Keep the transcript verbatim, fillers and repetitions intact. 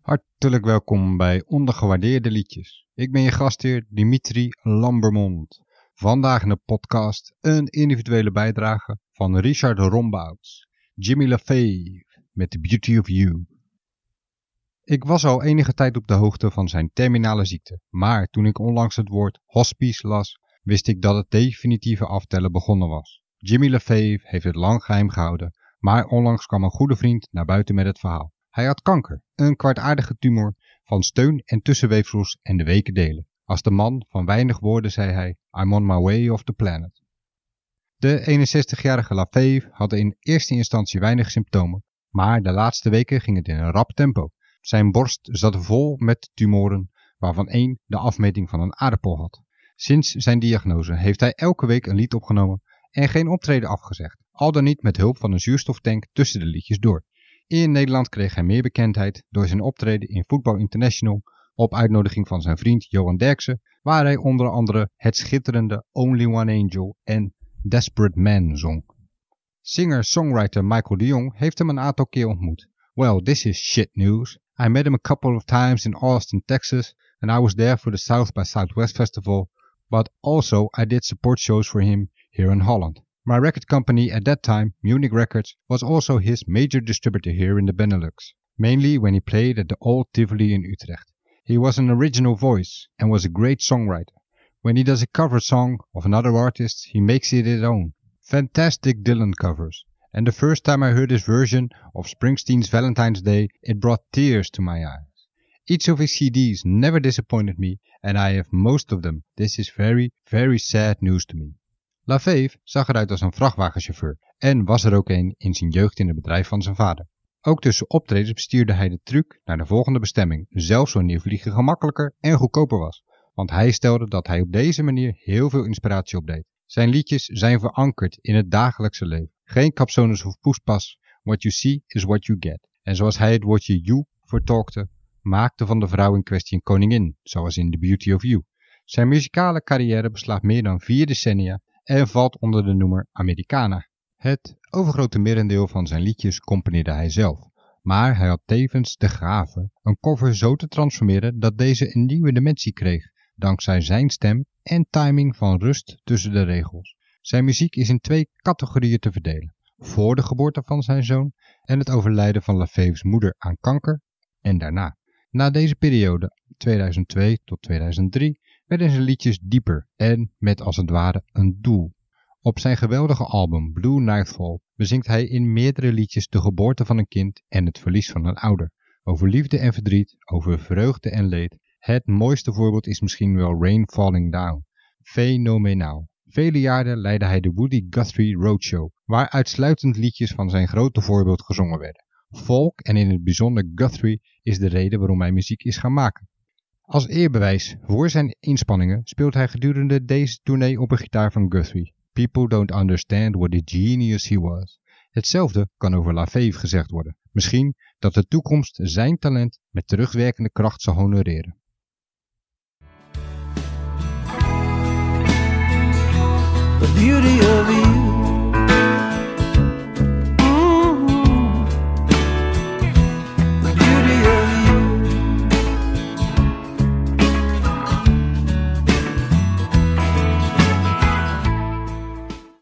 Hartelijk welkom bij Ondergewaardeerde Liedjes. Ik ben je gastheer Dimitri Lambermond. Vandaag in de podcast een individuele bijdrage van Richard Rombouts, Jimmy LaFave met The Beauty of You. Ik was al enige tijd op de hoogte van zijn terminale ziekte, maar toen ik onlangs het woord hospice las, wist ik dat het definitieve aftellen begonnen was. Jimmy LaFave heeft het lang geheim gehouden, maar onlangs kwam een goede vriend naar buiten met het verhaal. Hij had kanker, een kwaadaardige tumor van steun- en tussenweefsels en de weken delen. Als de man van weinig woorden zei hij, I'm on my way off the planet. De eenenzestigjarige LaFave had in eerste instantie weinig symptomen, maar de laatste weken ging het in een rap tempo. Zijn borst zat vol met tumoren, waarvan één de afmeting van een aardappel had. Sinds zijn diagnose heeft hij elke week een lied opgenomen en geen optreden afgezegd, al dan niet met hulp van een zuurstoftank tussen de liedjes door. In Nederland kreeg hij meer bekendheid door zijn optreden in Voetbal International op uitnodiging van zijn vriend Johan Derksen, waar hij onder andere het schitterende Only One Angel en Desperate Man zong. Singer-songwriter Michael de Jong heeft hem een aantal keer ontmoet. Well, this is shit news. I met him a couple of times in Austin, Texas, and I was there for the South by Southwest Festival, but also I did support shows for him here in Holland. My record company at that time, Munich Records, was also his major distributor here in the Benelux, mainly when he played at the Old Tivoli in Utrecht. He was an original voice and was a great songwriter. When he does a cover song of another artist, he makes it his own. Fantastic Dylan covers. And the first time I heard his version of Springsteen's Valentine's Day, it brought tears to my eyes. Each of his C Ds never disappointed me, and I have most of them. This is very, very sad news to me. LaFave zag eruit als een vrachtwagenchauffeur en was er ook een in zijn jeugd in het bedrijf van zijn vader. Ook tussen optredens bestuurde hij de truck naar de volgende bestemming, zelfs wanneer vliegen gemakkelijker en goedkoper was, want hij stelde dat hij op deze manier heel veel inspiratie opdeed. Zijn liedjes zijn verankerd in het dagelijkse leven. Geen capsones of poespas, what you see is what you get. En zoals hij het woordje you vertolkte, maakte van de vrouw in kwestie een koningin, zoals in The Beauty of You. Zijn muzikale carrière beslaat meer dan vier decennia en valt onder de noemer Americana. Het overgrote merendeel van zijn liedjes componeerde hij zelf, maar hij had tevens de gave een cover zo te transformeren dat deze een nieuwe dimensie kreeg, dankzij zijn stem en timing van rust tussen de regels. Zijn muziek is in twee categorieën te verdelen: voor de geboorte van zijn zoon en het overlijden van LaFave's moeder aan kanker en daarna. Na deze periode, tweeduizend twee tot tweeduizend drie, werden zijn liedjes dieper en met als het ware een doel. Op zijn geweldige album Blue Nightfall bezingt hij in meerdere liedjes de geboorte van een kind en het verlies van een ouder. Over liefde en verdriet, over vreugde en leed. Het mooiste voorbeeld is misschien wel Rain Falling Down. Fenomenaal. Vele jaren leidde hij de Woody Guthrie Roadshow, waar uitsluitend liedjes van zijn grote voorbeeld gezongen werden. Folk en in het bijzonder Guthrie is de reden waarom hij muziek is gaan maken. Als eerbewijs voor zijn inspanningen speelt hij gedurende deze tournee op een gitaar van Guthrie. People don't understand what a genius he was. Hetzelfde kan over LaFave gezegd worden. Misschien dat de toekomst zijn talent met terugwerkende kracht zal honoreren. The beauty of you.